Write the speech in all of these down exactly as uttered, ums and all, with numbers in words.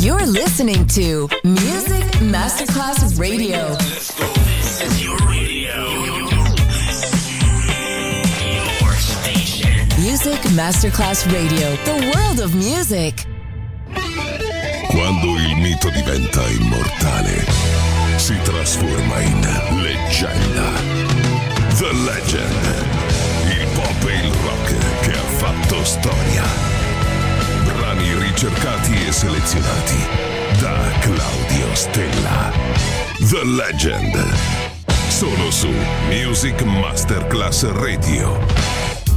You're listening to Music Masterclass Radio. Let's go. This is your radio. Your station. Music Masterclass Radio. The world of music. Quando il mito diventa immortale, si trasforma in leggenda. The Legend. Il pop e il rock che ha fatto storia. Brani ricercati e selezionati da Claudio Stella. The Legend. Solo su Music Masterclass Radio.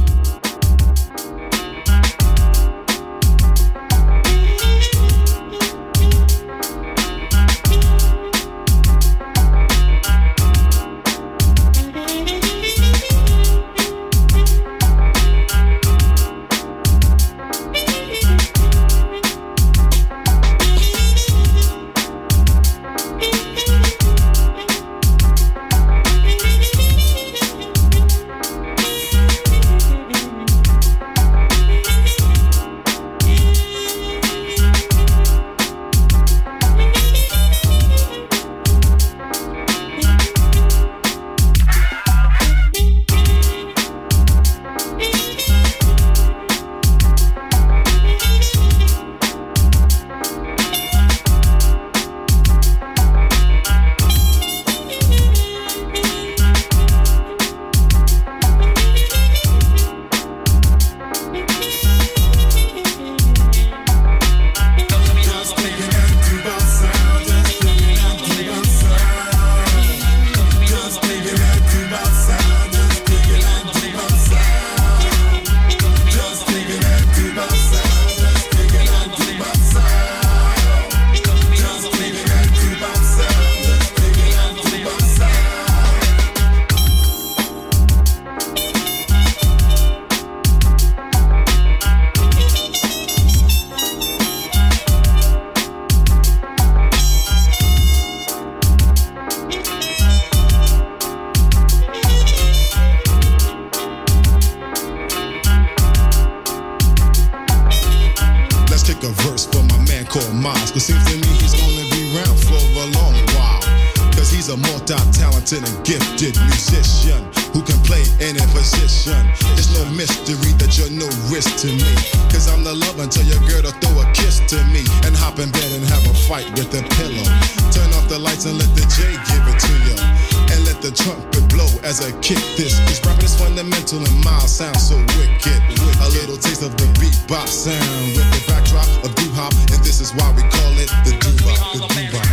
And gifted musician who can play any position. It's no mystery that you're no risk to me, cause I'm the love until your girl to throw a kiss to me and hop in bed and have a fight with a pillow. Turn off the lights and let the J give it to you, and let the trumpet blow as I kick this. This rapping is fundamental and mild sounds so wicked. A little taste of the bebop sound with the backdrop of doo-hop, and this is why we call it the doo-bop, the doo-bop.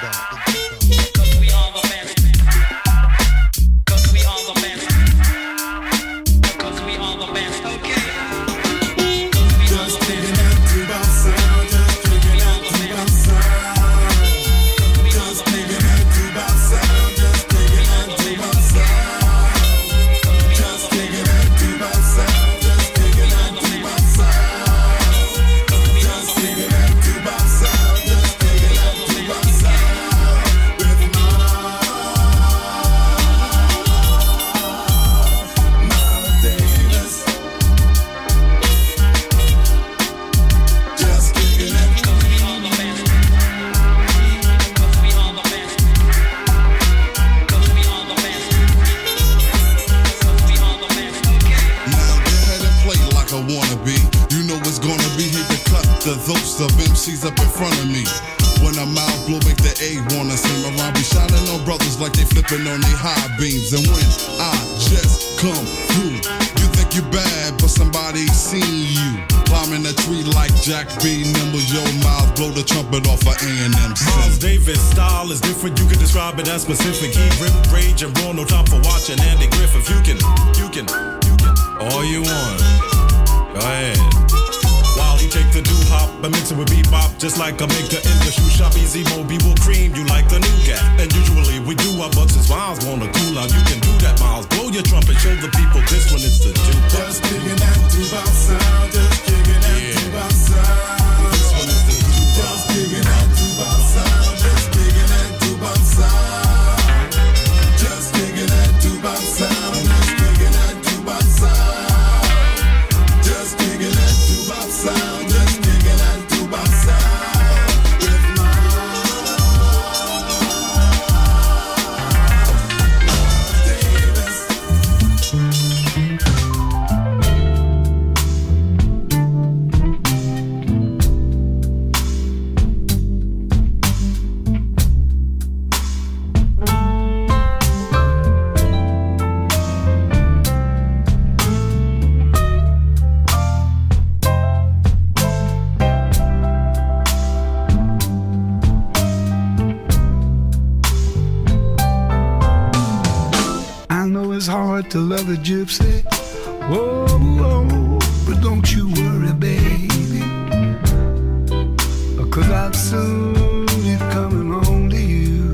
On they high beams, and when I just come through, you think you bad, but somebody seen you climbing a tree like Jack B. Nimble. Your mouth blow the trumpet off of A and M. Miles Davis style is different. You can describe it as specific. He rip, rage, and roll. No time for watching Andy Griffith. You can, you can, you can. All you want. Go ahead. While he take the doo-hop and mix it with bebop, just like a maker in the shoe shop. Easy Moby will cream you like the nougat. And usually we do our bucks as Miles wanna cool out. You can do that, Miles. Blow your trumpet, show the people this one is the doo-bop. Just digging that doo-bop sound. Just digging that yeah. doo-bop sound. This one is the doo-bop. Just digging that doo-bop sound. Just digging that doo-bop sound. Just digging that doo-bop sound. Just digging that doo-bop sound. Just digging that doo-bop sound. Just digging that doo-bop sound. heart to love a gypsy. Oh, oh, but don't you worry, baby, 'cause I'll soon be coming home to you.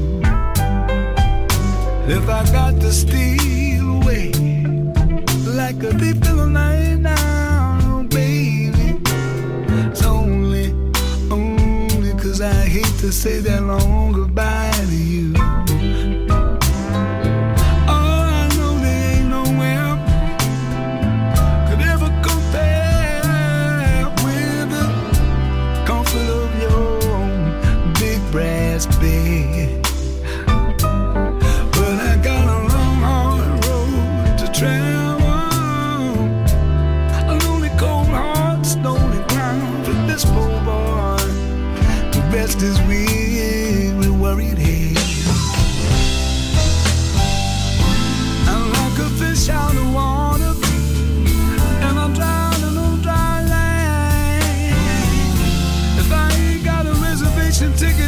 If I got to steal away like a thief in the night now, baby, it's only, only 'cause I hate to say that long goodbye to you. Bed. But I got a long, hard road to travel, a lonely, cold heart, stony ground for this poor boy. The best is we, we worried head. I'm like a fish out of water, and I'm drowning on dry land. If I ain't got a reservation ticket,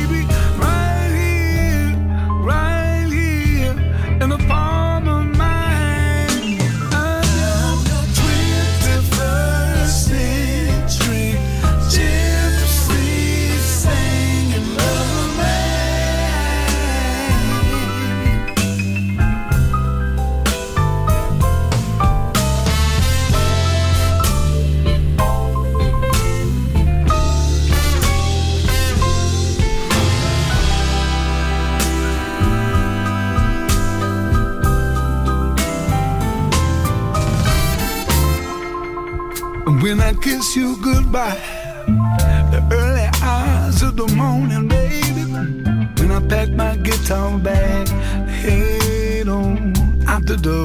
when I kiss you goodbye, the early hours of the morning, baby, when I pack my guitar bag, head on out the door.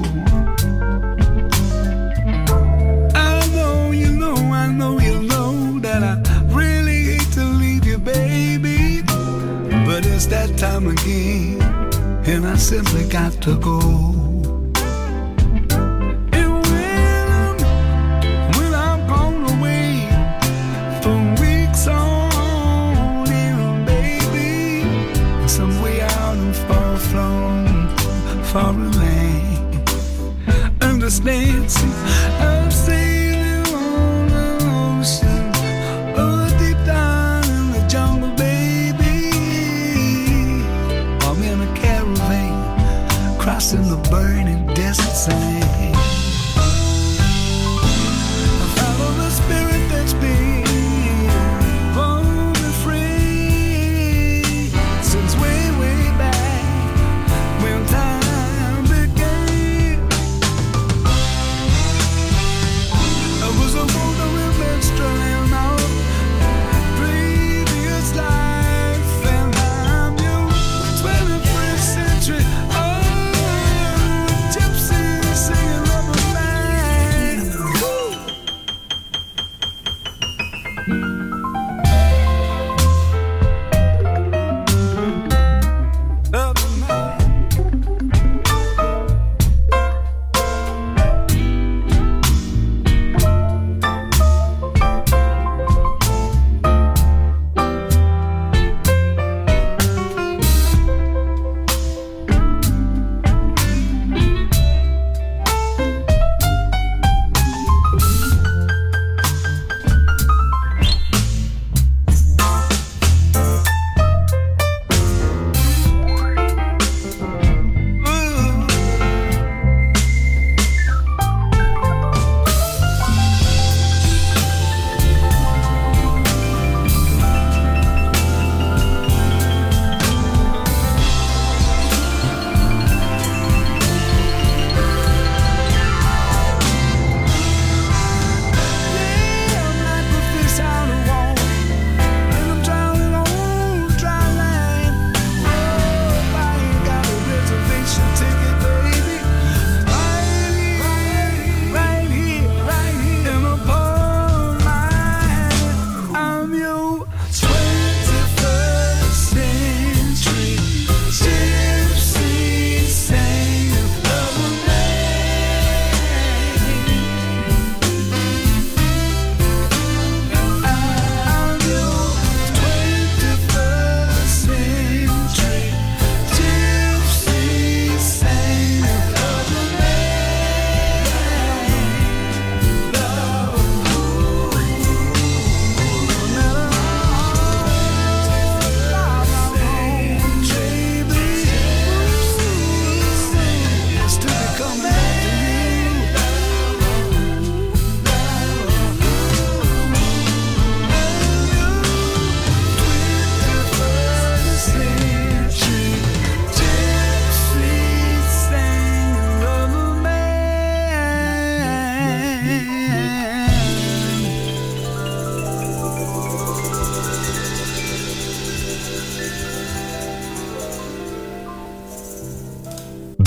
I know you know, I know you know that I really hate to leave you, baby, but it's that time again, and I simply got to go. Foreign land, understand? See, I'm sailing on the ocean, oh, deep down in the jungle, baby. I'm in a caravan, crossing the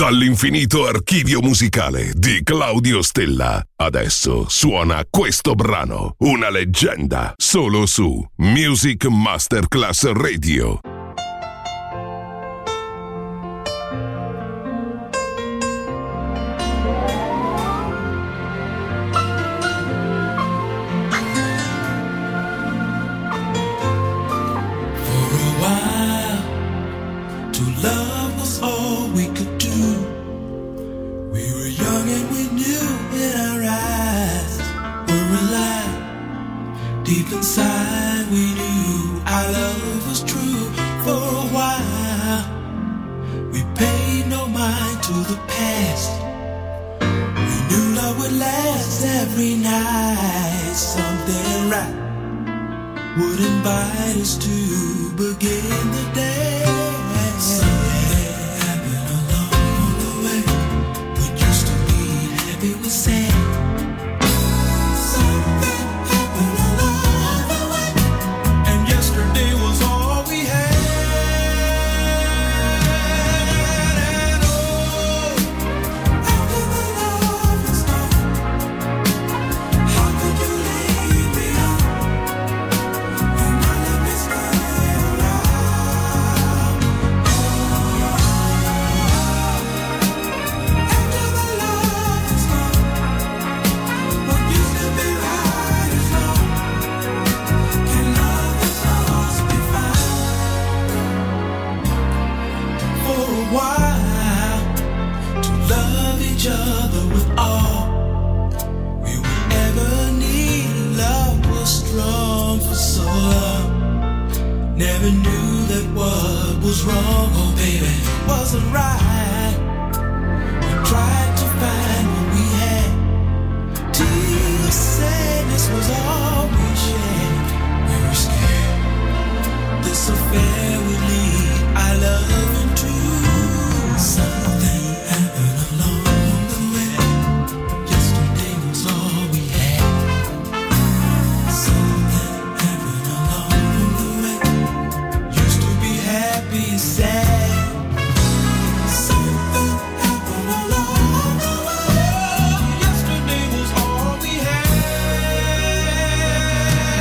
Dall'infinito archivio musicale di Claudio Stella. Adesso suona questo brano, una leggenda, solo su Music Masterclass Radio. Deep inside we knew our love was true. For a while we paid no mind to the past. We knew love would last every night. Something right would invite us to begin the day. Something happened along the way. What used to be happy was sad. Never knew that what was wrong, oh baby, wasn't right. We tried to find what we had. Till sadness was all we shared. We were scared this affair would lead our love into something happened along the way. Yesterday was all we had. Something happened along the way. Happy, sad. Something happened along the way. Yesterday was all we had.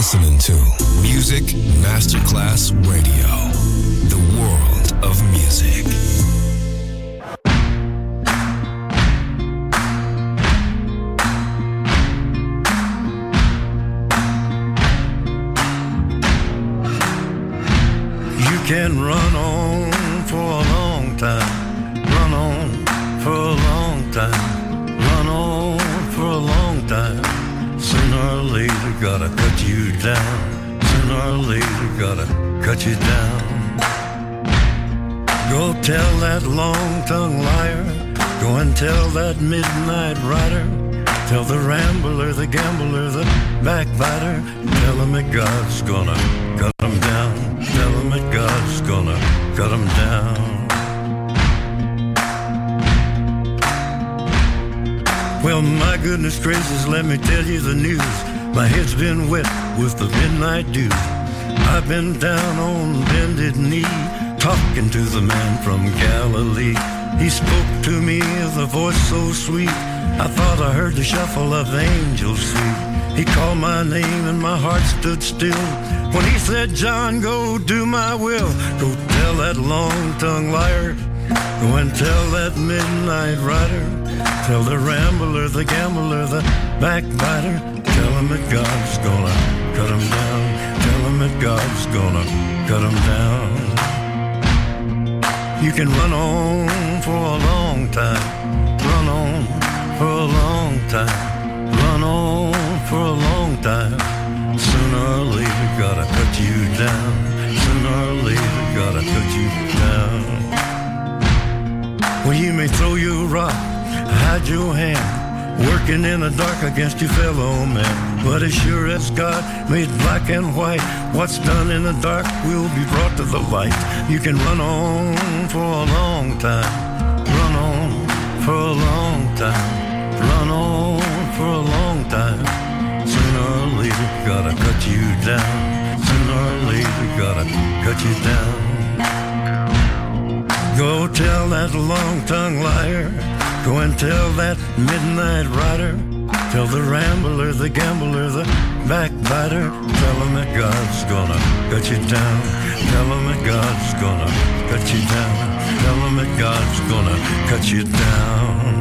listening to Music Masterclass Radio, the world of music. You can run on for a long time, run on for a long time, run on for a long time. Sooner or later, gotta cut you down. Sooner or later, gotta cut you down. Go tell that long-tongued liar. Go and tell that midnight rider. Tell the rambler, the gambler, the backbiter. Tell him that God's gonna cut him down. Tell him that God's gonna cut him down. Well, my goodness gracious, let me tell you the news. My head's been wet with the midnight dew. I've been down on bended knee, talking to the man from Galilee. He spoke to me with a voice so sweet, I thought I heard the shuffle of angels' feet. He called my name and my heart stood still when he said, John, go do my will. Go tell that long-tongued liar. Go and tell that midnight rider. Tell the rambler, the gambler, the backbiter. Tell him that God's gonna cut him down. Tell him that God's gonna cut him down. You can run on for a long time. Run on for a long time. Run on for a long time. Sooner or later, gotta cut you down. Sooner or later, gotta cut you down. Well, you may throw your rock, hide your hand, working in the dark against your fellow man. But as sure as God made black and white, what's done in the dark will be brought to the light. You can run on for a long time. Run on for a long time. Run on for a long time. Sooner or later, gotta cut you down. Sooner or later, gotta cut you down. Go tell that long-tongued liar. Go and tell that midnight rider. Tell the rambler, the gambler, the backbiter. Tell him that God's gonna cut you down. Tell him that God's gonna cut you down. Tell him that God's gonna cut you down.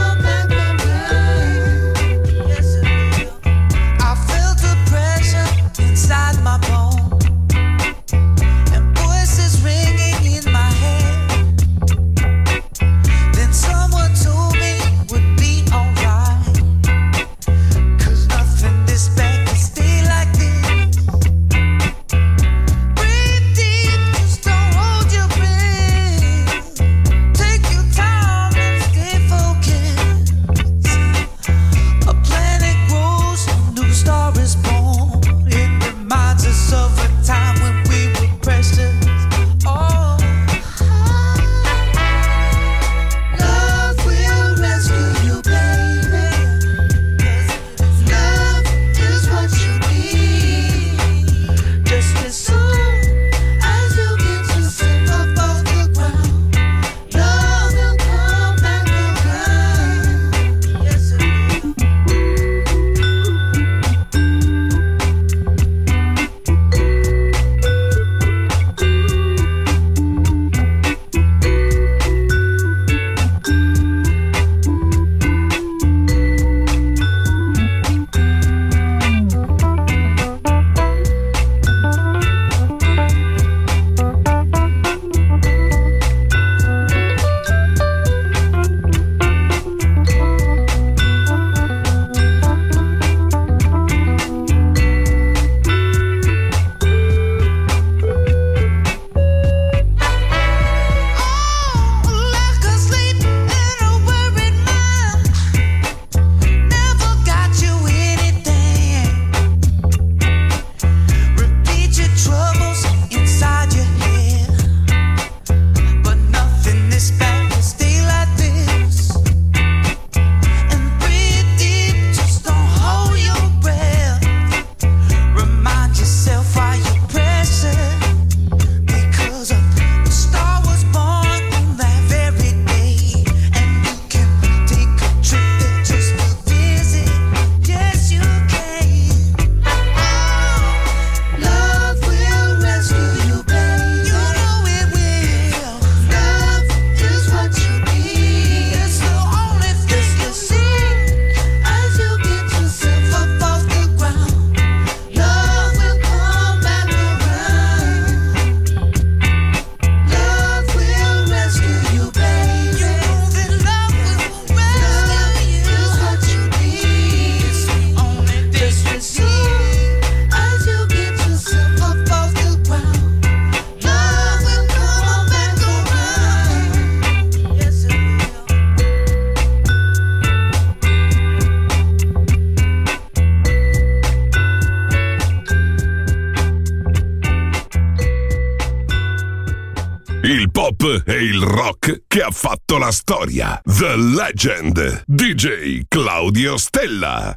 I felt the pressure il pop e il rock che ha fatto la storia. The Legend, D J Claudio Stella.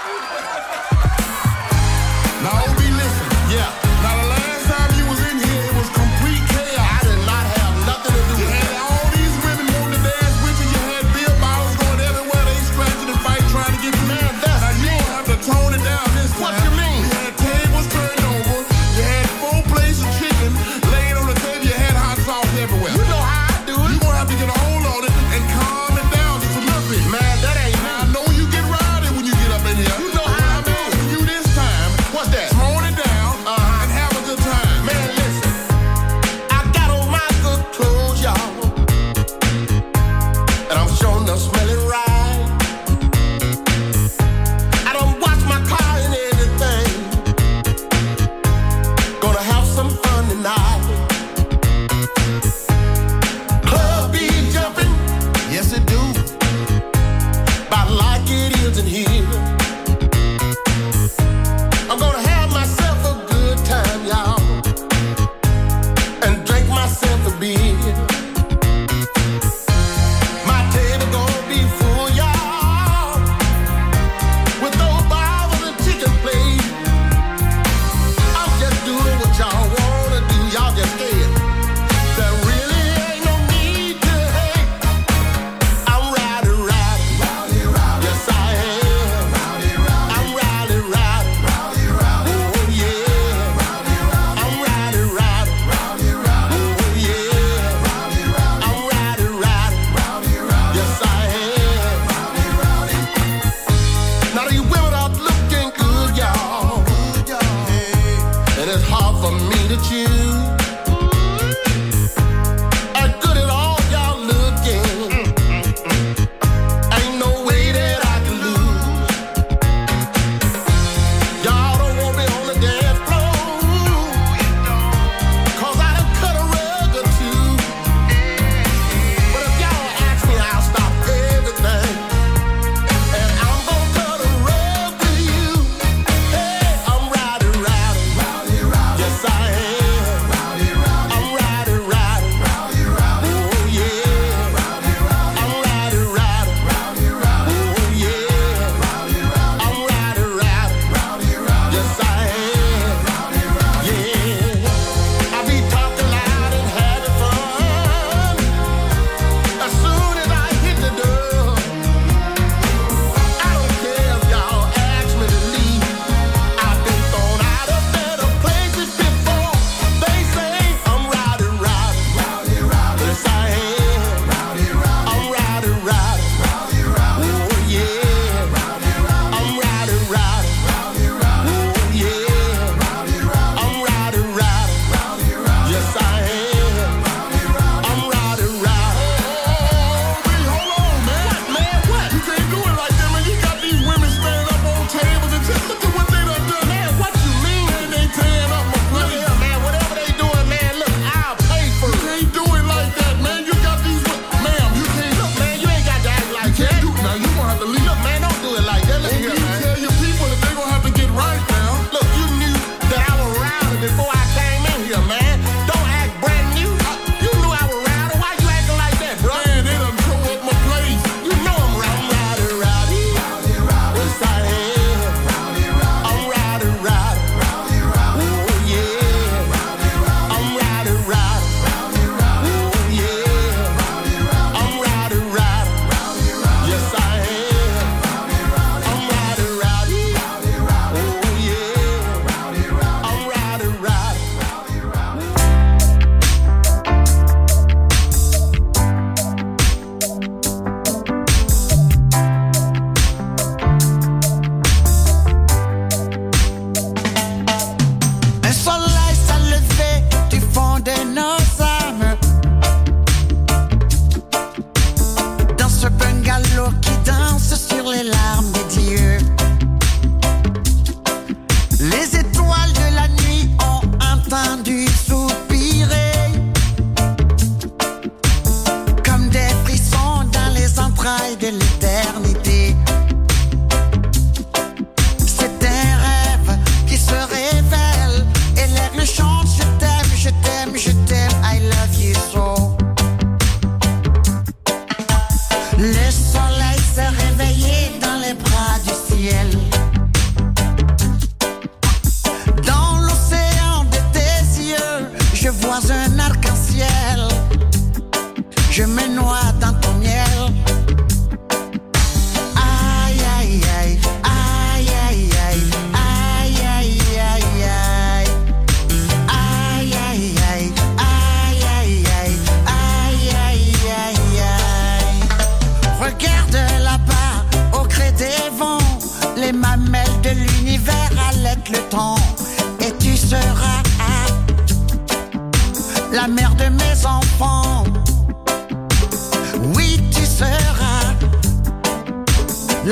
Now, O B, listen, yeah. Now, the last time you was in here, it was complete chaos. I did not have nothing to do with it. You had all these women wanting to dance with you. You had beer bottles going everywhere. They scratching and fighting, trying to get you mad. That's now, you don't have to tone it down this time. What you mean? You had tables turned over. You had four plates of chicken laying on the table. You had hot sauce everywhere. You know how I do it. You're going to have to get a hold on it and calm it down just a little bit. Man, that ain't me. I know you get rowdy when you get up in here. You know how I'm asking you this time. What's that? Tone it down. Uh-huh.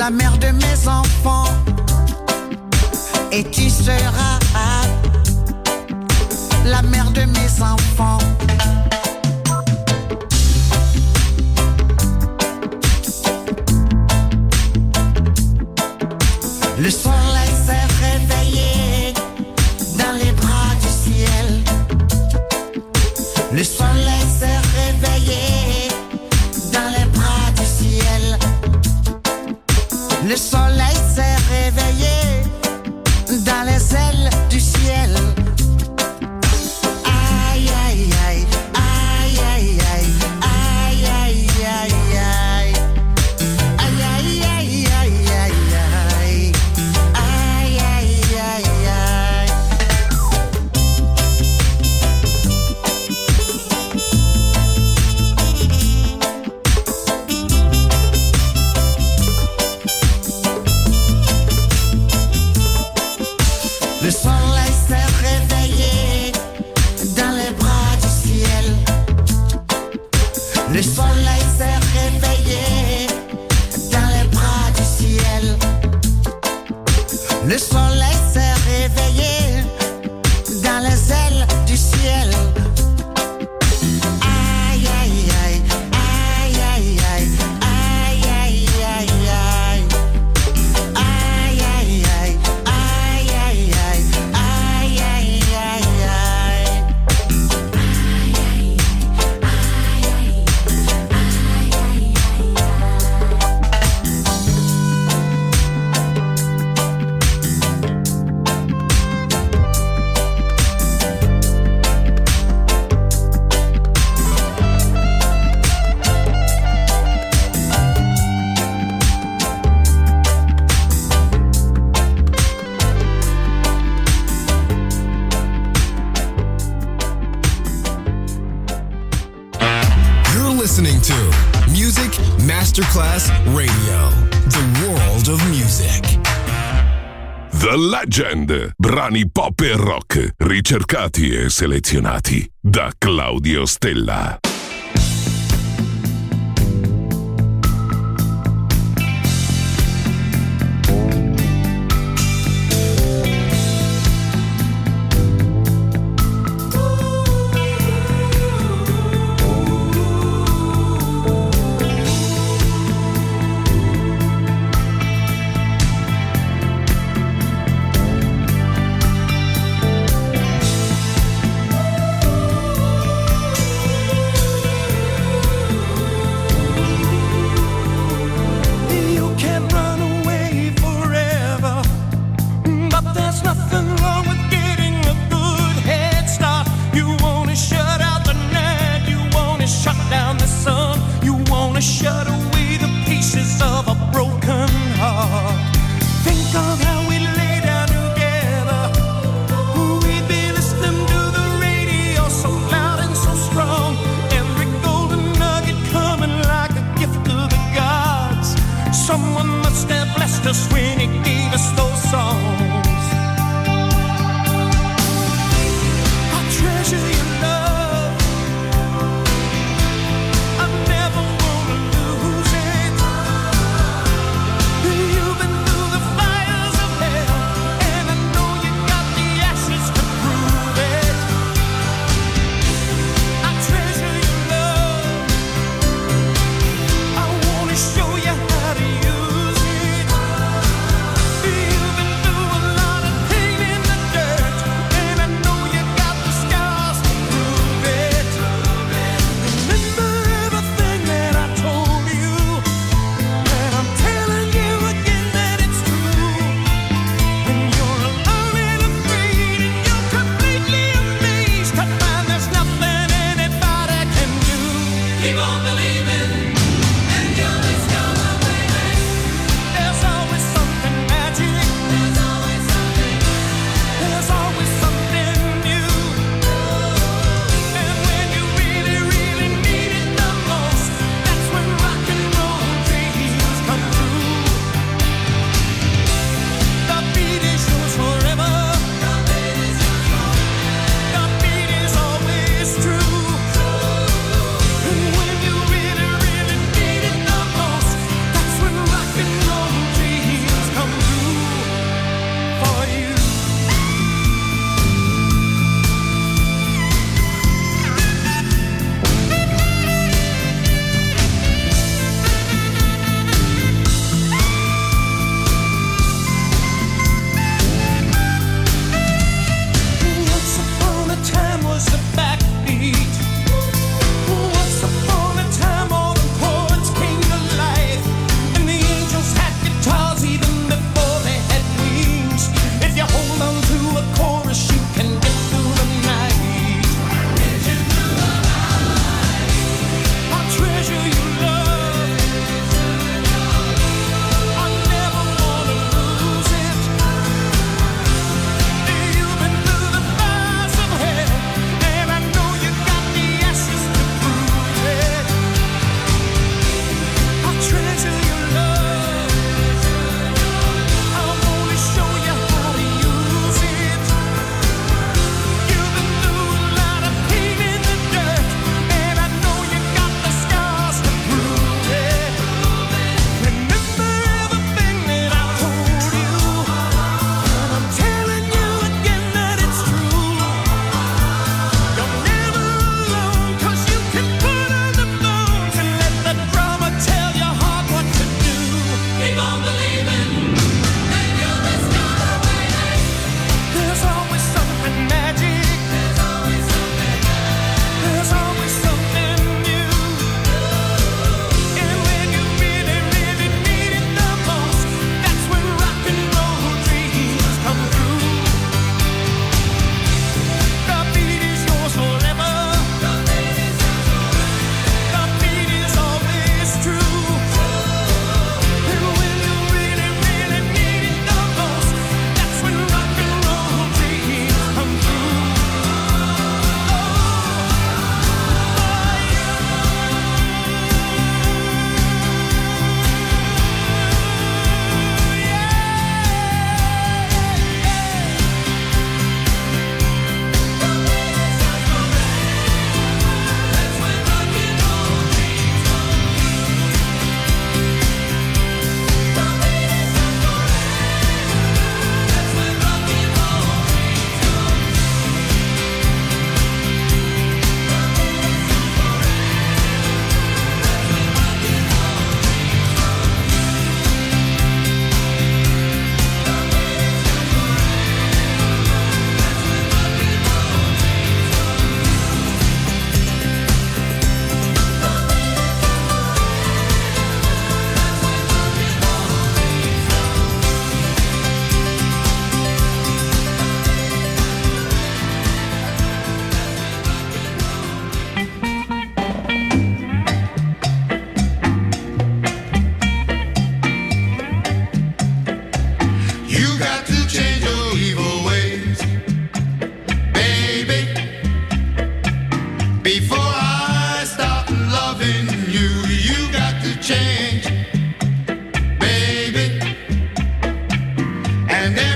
la mère de mes enfants, et tu seras la mère de mes enfants. Le soleil s'est réveillé dans les bras du ciel. Le soleil s'est réveillé dans les bras du ciel. Le soleil s'est réveillé dans les ailes du ciel. Aïe aïe aïe, aïe aïe aïe, aïe aïe aïe aïe, aïe aïe aïe aïe aïe, aïe aïe aïe aïe. Le soleil s'est réveillé dans les bras du ciel. Le soleil s'est réveillé dans les bras du ciel. Le soleil s'est réveillé dans les ailes du ciel. Aïe aïe aïe, aïe aïe aïe, aïe aïe aïe aïe. Aïe aïe aïe, aïe aïe aïe, aïe aïe aïe aïe. You're listening to Music Masterclass Radio, the world of music. The Legend, brani pop e rock, ricercati e selezionati da Claudio Stella. Ooh.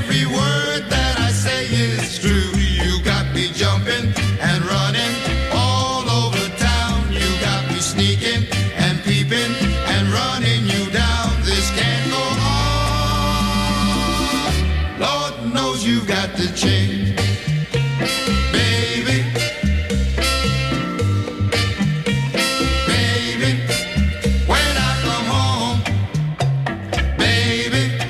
every word that I say is true. You got me jumping and running all over town. You got me sneaking and peeping and running you down. This can't go on. Lord knows you got to change, baby. Baby, when I come home, baby,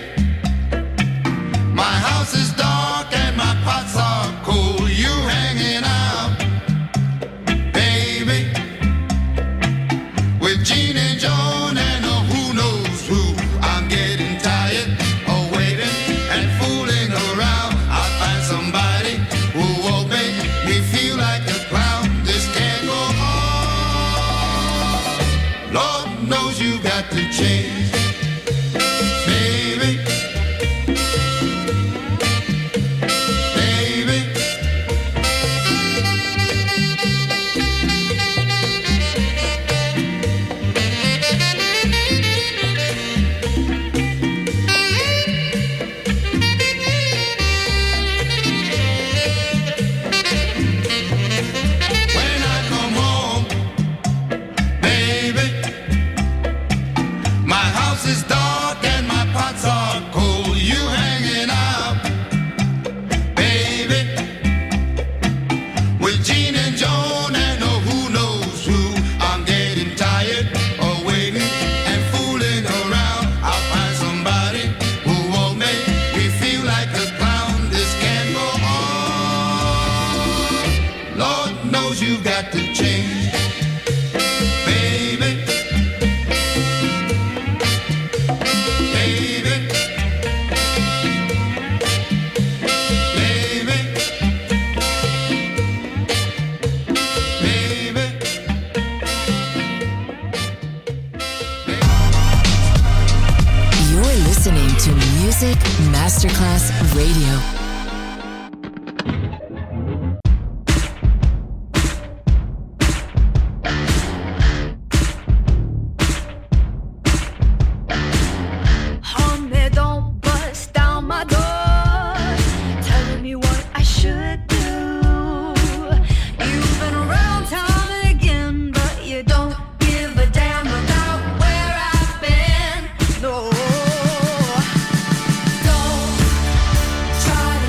my house is dark and my pots are cold. You hanging out, baby, with Gene and Joan and a who knows who. I'm getting tired of waiting and fooling around. I'll find somebody who won't make me feel like a clown. This can't go on. Lord knows you got to change, baby. Baby. When I come home, baby, my house is dark and my pots are cold. You hanging out, baby, with Gene and Joan and oh who knows who. I'm getting tired of waiting and fooling around. I'll find somebody who won't make me feel like a clown. This can't go on. Lord knows you got to change, baby. Baby, baby, baby. You're listening to Music Masterclass Radio. Honey, don't bust down my door, telling me what I should do. You've been around time and again, but you don't give a damn about where I've been. No, don't try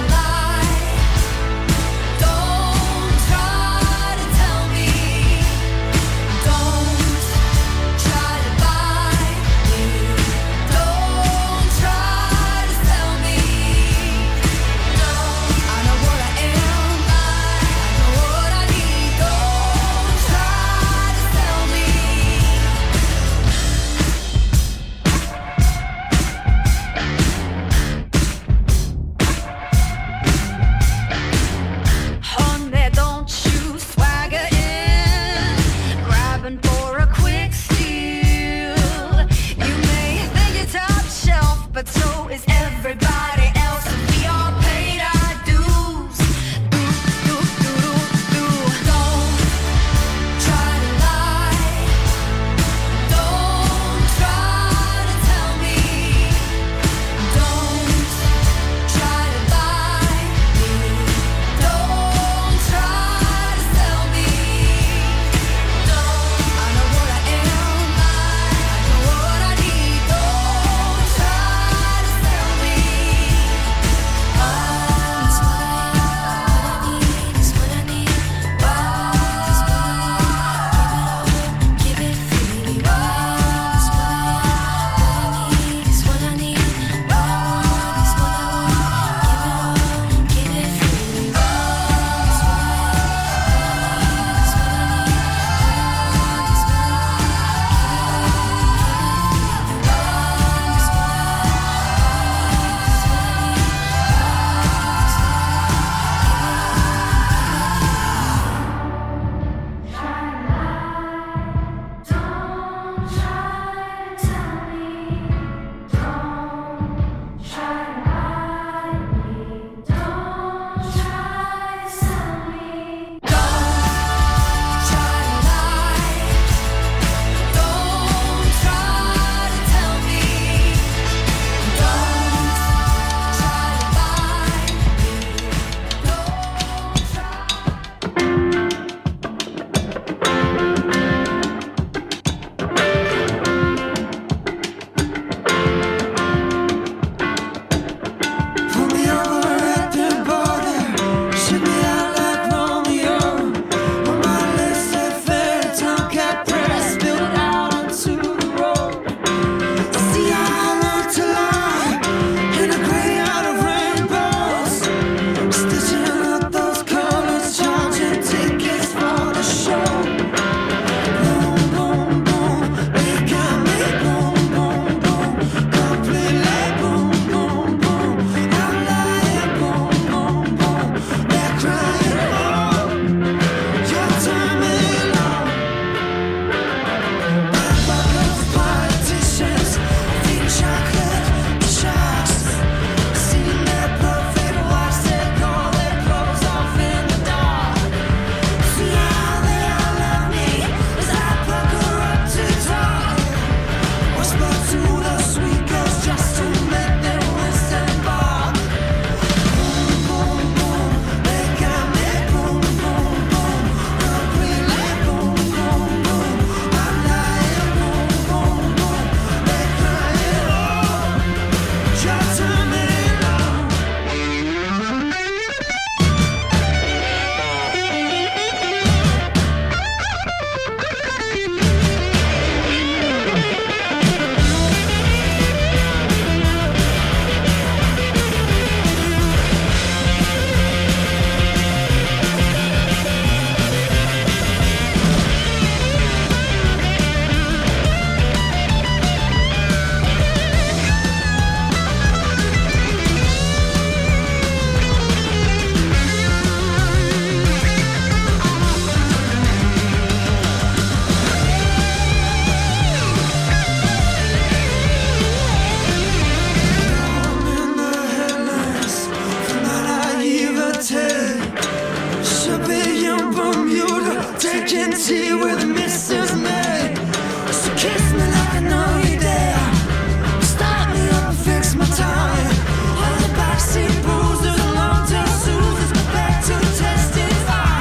tea where the missus made. So kiss me like I know you dare. Start me up and fix my tie. All the backseat bruises and long-tail soothes go back to testify.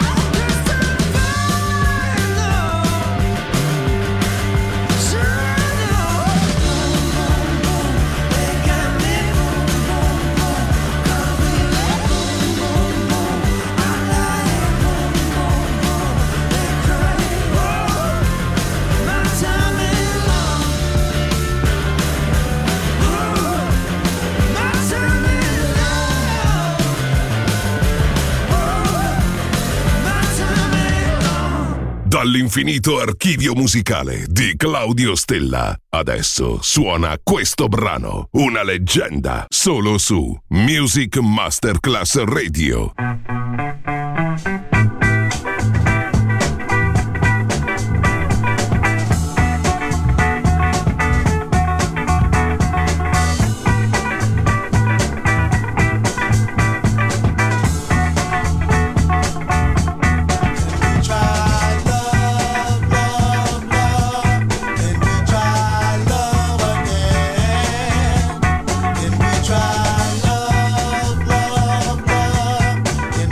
Dall'infinito archivio musicale di Claudio Stella. Adesso suona questo brano, una leggenda, solo su Music Masterclass Radio. Try love, love, love.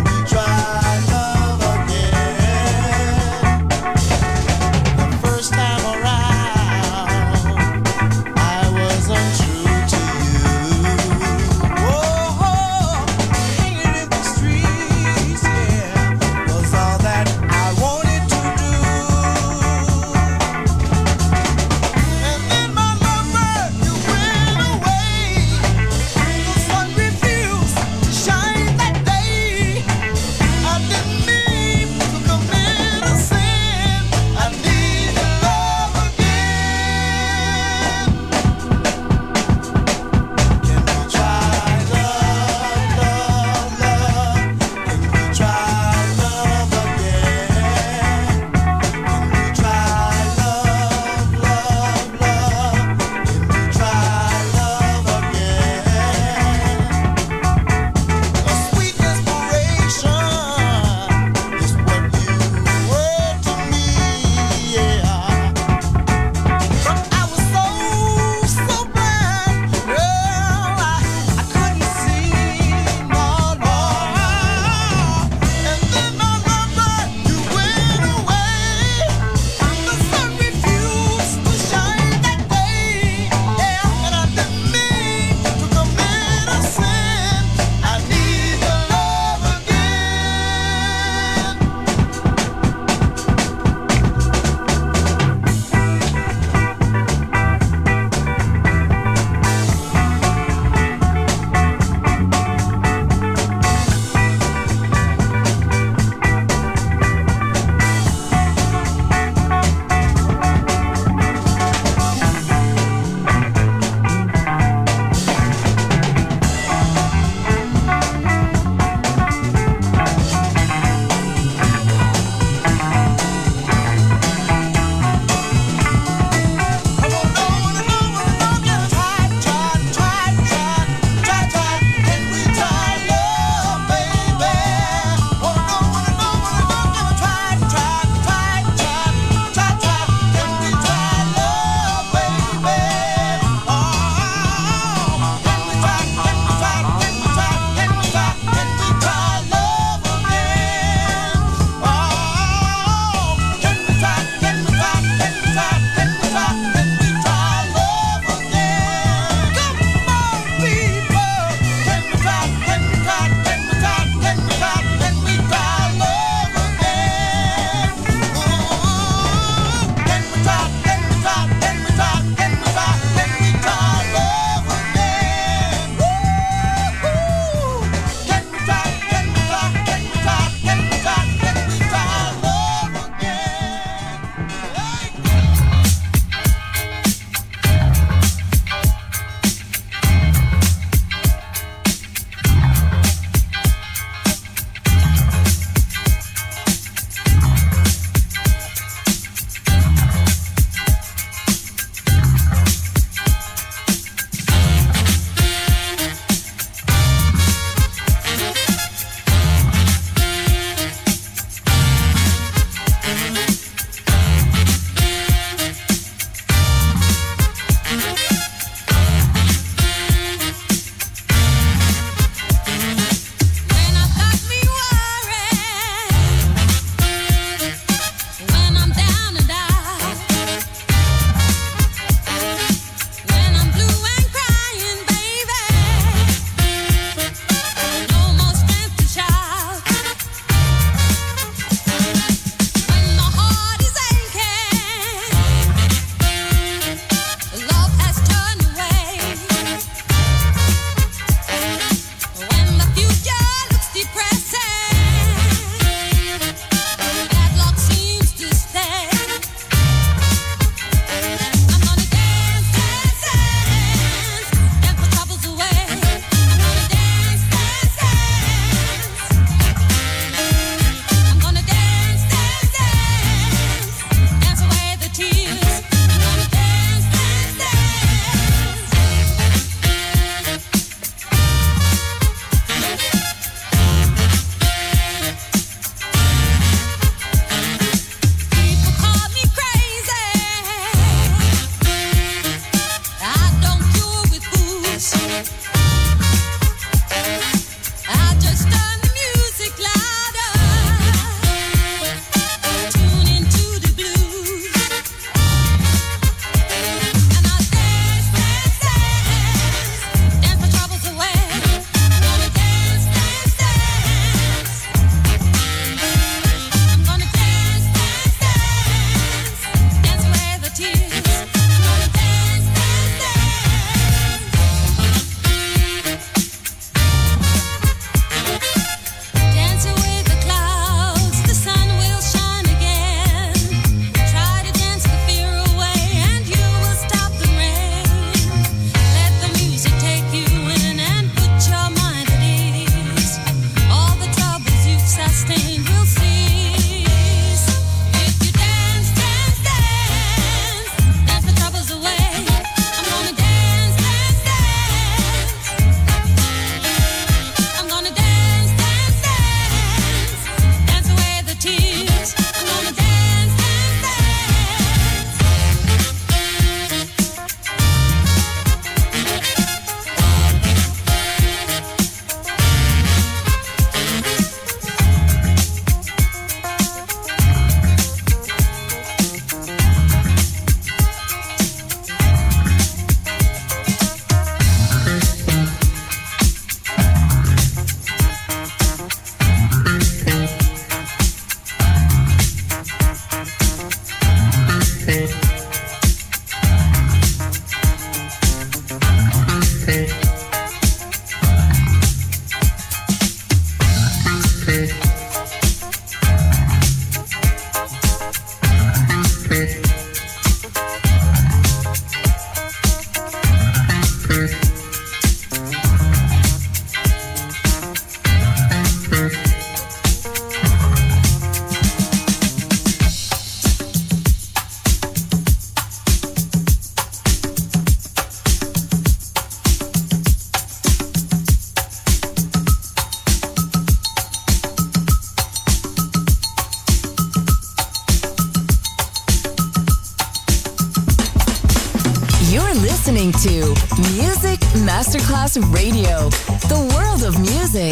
listening to Music Masterclass Radio, the world of music.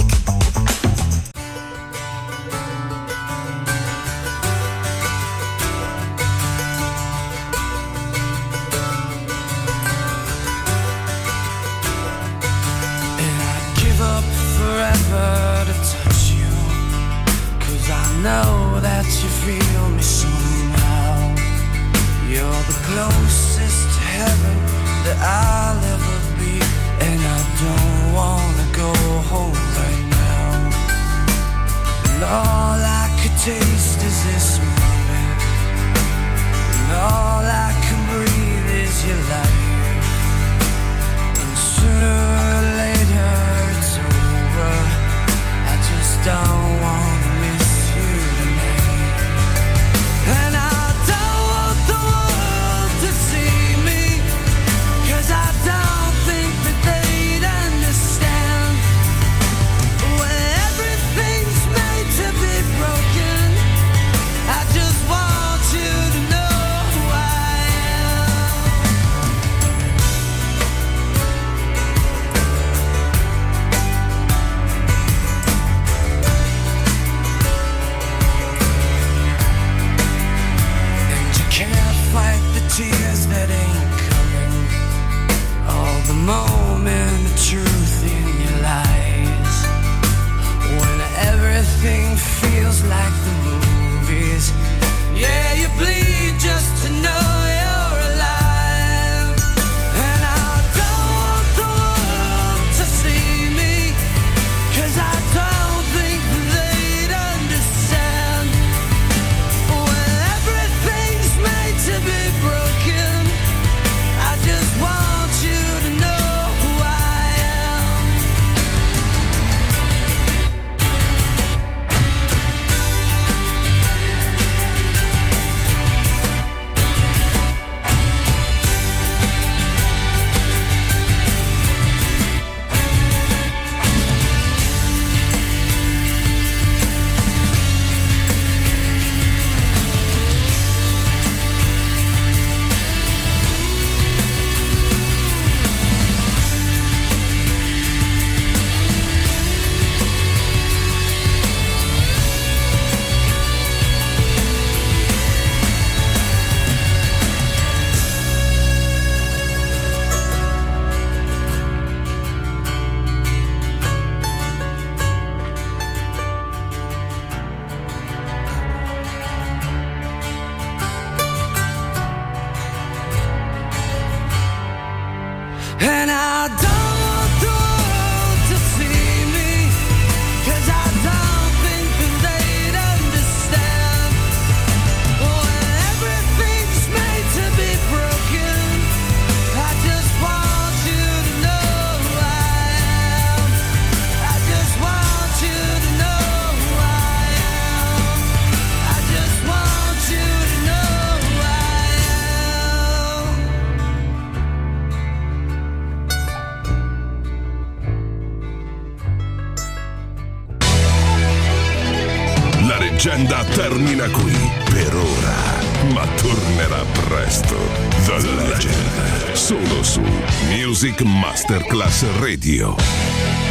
Forever to touch you, 'cause I know that you feel me somehow. You're the closest to heaven that I'll ever be, and I don't wanna go home right now. And all I could taste is this moment, and all I can breathe is your life. And sooner or later I just don't want to miss you tonight. And I don't want the world to see me, 'cause I don't think that they'd understand. When everything's made to be broken, I just want you to know who I am. Fight the tears that ain't coming, all the moment of truth in your lies. When everything feels like the movies, yeah, you bleed just to know you're alive. And I don't want the world to see me, 'cause I don't think they'd understand. When everything's made to be broken, I just want you to know who I am. And I don't want the world to see me, 'cause I don't think that they'd understand. When everything's made to be broken, I just want you to know who I am. I just want you to know who I am. I just want you to know who I am. La leggenda termina qui per ora, ma tornerà presto. The Legend, solo su Music Masterclass Radio.